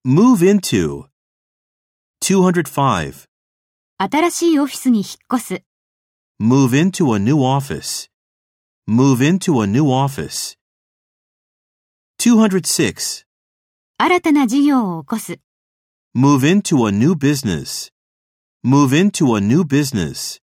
Move into. 205. 新しいオフィスに引っ越す。 Move into a new office. Move into a new office. 206. 新たな事業を起こす。 Move into a new business. Move into a new business.